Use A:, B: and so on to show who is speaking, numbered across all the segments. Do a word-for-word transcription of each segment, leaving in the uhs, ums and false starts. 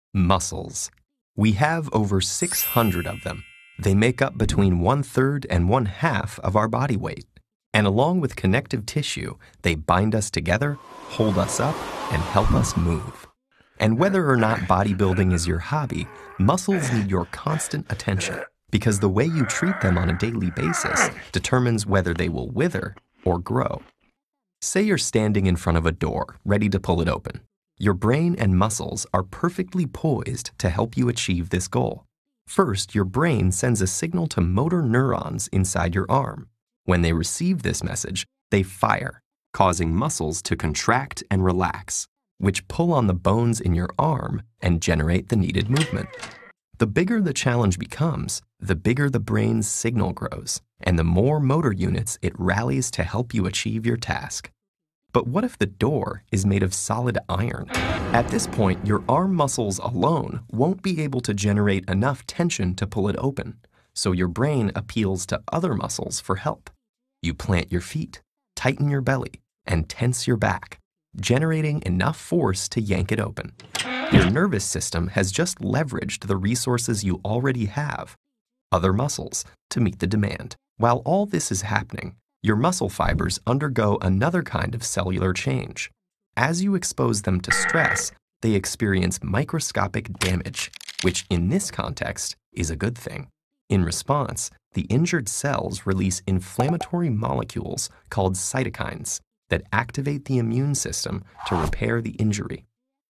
A: Muscles. We have over six hundred of them. They make up between one-third and one-half of our body weight. And along with connective tissue, they bind us together, hold us up, and help us move. And whether or not bodybuilding is your hobby, muscles need your constant attention because the way you treat them on a daily basis determines whether they will wither or grow. Say you're standing in front of a door, ready to pull it open. Your brain and muscles are perfectly poised to help you achieve this goal. First, your brain sends a signal to motor neurons inside your arm. When they receive this message, they fire, causing muscles to contract and relax, which pull on the bones in your arm and generate the needed movement. The bigger the challenge becomes, the bigger the brain's signal grows, and the more motor units it rallies to help you achieve your task. But what if the door is made of solid iron? At this point, your arm muscles alone won't be able to generate enough tension to pull it open, so your brain appeals to other muscles for help. You plant your feet, tighten your belly, and tense your back, generating enough force to yank it open. Your nervous system has just leveraged the resources you already have, other muscles, to meet the demand. While all this is happening, your muscle fibers undergo another kind of cellular change. As you expose them to stress, they experience microscopic damage, which in this context is a good thing. In response, the injured cells release inflammatory molecules called cytokines that activate the immune system to repair the injury.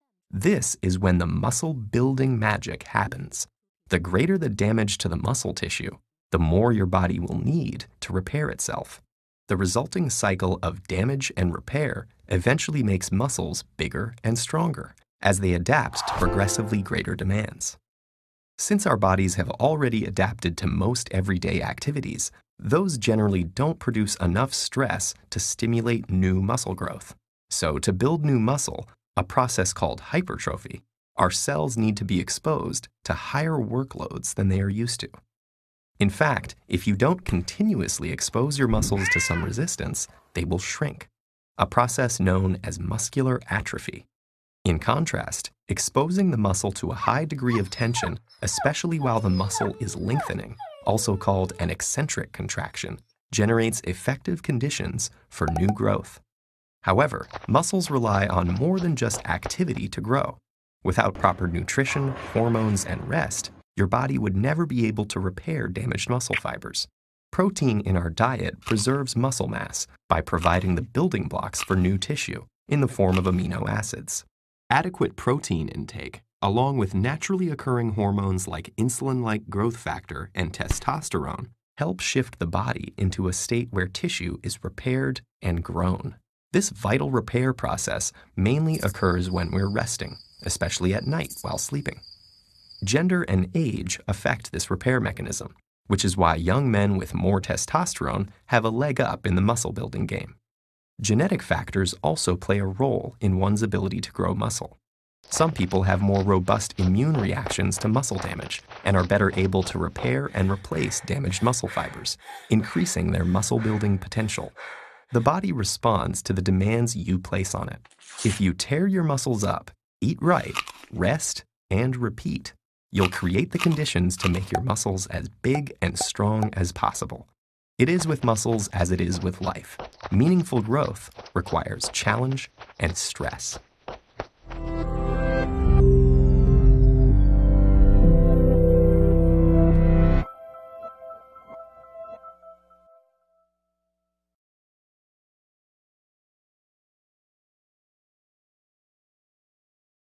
A: This is when the muscle-building magic happens. The greater the damage to the muscle tissue, the more your body will need to repair itself. The resulting cycle of damage and repair eventually makes muscles bigger and stronger as they adapt to progressively greater demands. Since our bodies have already adapted to most everyday activities, those generally don't produce enough stress to stimulate new muscle growth. So to build new muscle, a process called hypertrophy, our cells need to be exposed to higher workloads than they are used to. In fact, if you don't continuously expose your muscles to some resistance, they will shrink, a process known as muscular atrophy. In contrast, exposing the muscle to a high degree of tension, especially while the muscle is lengthening, also called an eccentric contraction, generates effective conditions for new growth. However, muscles rely on more than just activity to grow. Without proper nutrition, hormones, and rest, your body would never be able to repair damaged muscle fibers. Protein in our diet preserves muscle mass by providing the building blocks for new tissue in the form of amino acids. Adequate protein intake, along with naturally occurring hormones like insulin-like growth factor and testosterone, help shift the body into a state where tissue is repaired and grown. This vital repair process mainly occurs when we're resting, especially at night while sleeping. Gender and age affect this repair mechanism, which is why young men with more testosterone have a leg up in the muscle-building game. Genetic factors also play a role in one's ability to grow muscle. Some people have more robust immune reactions to muscle damage and are better able to repair and replace damaged muscle fibers, increasing their muscle-building potential. The body responds to the demands you place on it. If you tear your muscles up, eat right, rest, and repeat, you'll create the conditions to make your muscles as big and strong as possible. It is with muscles as it is with life. Meaningful growth requires challenge and stress.